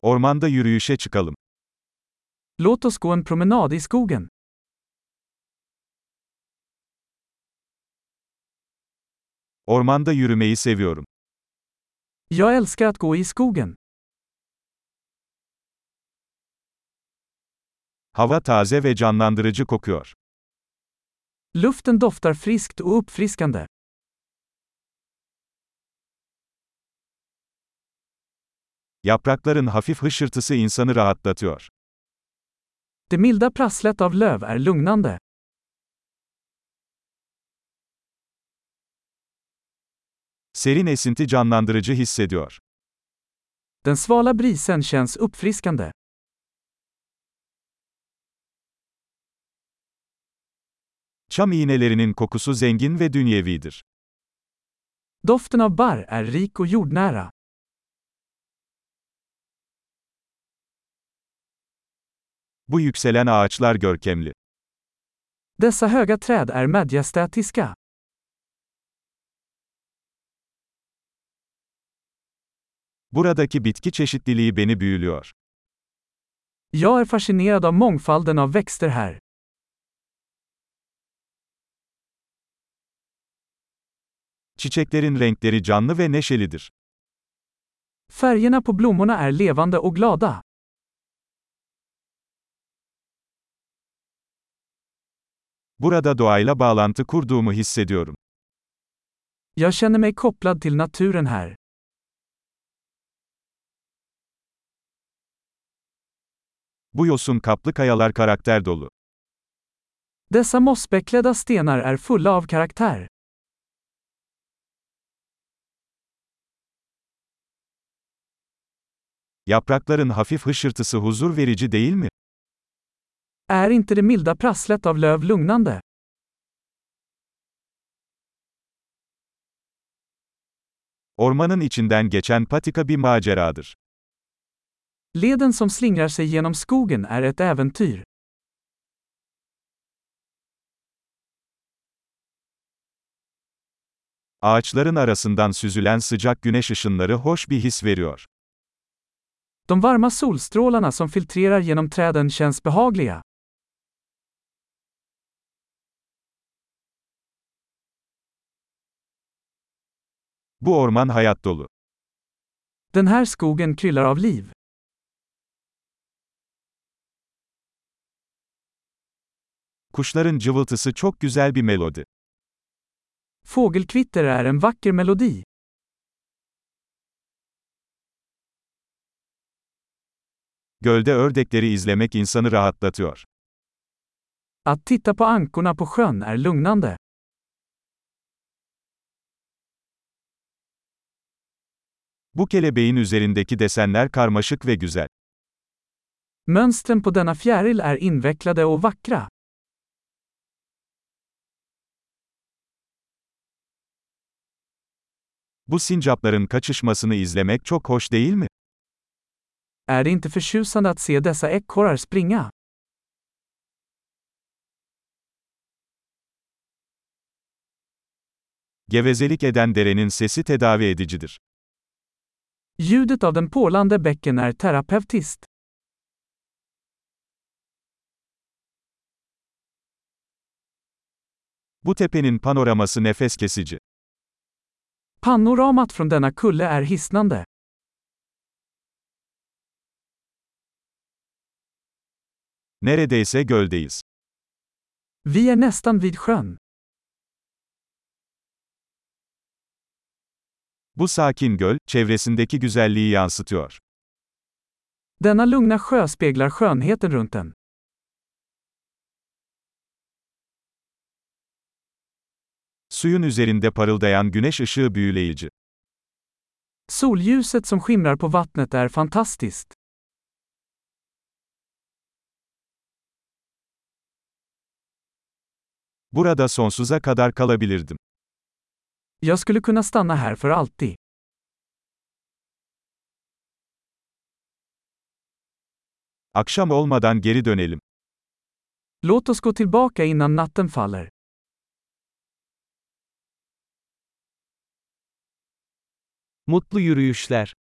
Ormanda yürüyüşe çıkalım. Låt oss gå en promenad i skogen. Ormanda yürümeyi seviyorum. Jag älskar att gå i skogen. Hava taze ve canlandırıcı kokuyor. Luften doftar friskt och uppfriskande. Yaprakların hafif hışırtısı insanı rahatlatıyor. Det milda prasslet av löv är lugnande. Serin esinti canlandırıcı hissediyor. Den svala brisen känns uppfriskande. Çam iğnelerinin kokusu zengin ve dünyevidir. Doften av barr är rik och jordnära. Bu yükselen ağaçlar görkemli. Dessa höga träd är majestätiska. Buradaki bitki çeşitliliği beni büyülüyor. Jag är fascinerad av mångfalden av växter här. Çiçeklerin renkleri canlı ve neşelidir. Färgerna på blommorna är levande och glada. Burada doğayla bağlantı kurduğumu hissediyorum. Jag känner mig kopplad till naturen här. Bu yosun kaplı kayalar karakter dolu. Dessa mossbeklädda stenar är fulla av karaktär. Yaprakların hafif hışırtısı huzur verici değil mi? Är inte det milda prasslet av löv lugnande? Ormanın içinden geçen patika bir maceradır. Leden som slingrar sig genom skogen är ett äventyr. Ağaçların arasından süzülen sıcak güneş ışınları hoş bir his veriyor. De varma solstrålarna som filtrerar genom träden känns behagliga. Bu orman hayat dolu. Den här skogen kryllar av liv. Kuşların cıvıltısı çok güzel bir melodi. Fågelkvitter är en vacker melodi. Gölde ördekleri izlemek insanı rahatlatıyor. Att titta på ankorna på sjön är lugnande. Bu kelebeğin üzerindeki desenler karmaşık ve güzel. Mönstren på denna fjäril är invecklade och vackra. Bu sincapların kaçışmasını izlemek çok hoş değil mi? Är det inte förtjusande att se dessa ekorrar springa? Gevezelik eden derenin sesi tedavi edicidir. Ljudet av den porlande bäcken är terapeutiskt. Bu tepenin panoraması nefes kesici. Panoramat från denna kulle är hisnande. Neredeyse göldeyiz. Vi är nästan vid sjön. Bu sakin göl, çevresindeki güzelliği yansıtıyor. Denna lugna sjö speglar skönheten runt den. Suyun üzerinde parıldayan güneş ışığı büyüleyici. Solljuset som skimrar på vattnet är fantastiskt. Burada sonsuza kadar kalabilirdim. Jag skulle kunna stanna här för alltid. Akşam olmadan geri dönelim. Låt oss gå tillbaka innan natten faller. Mutlu yürüyüşler.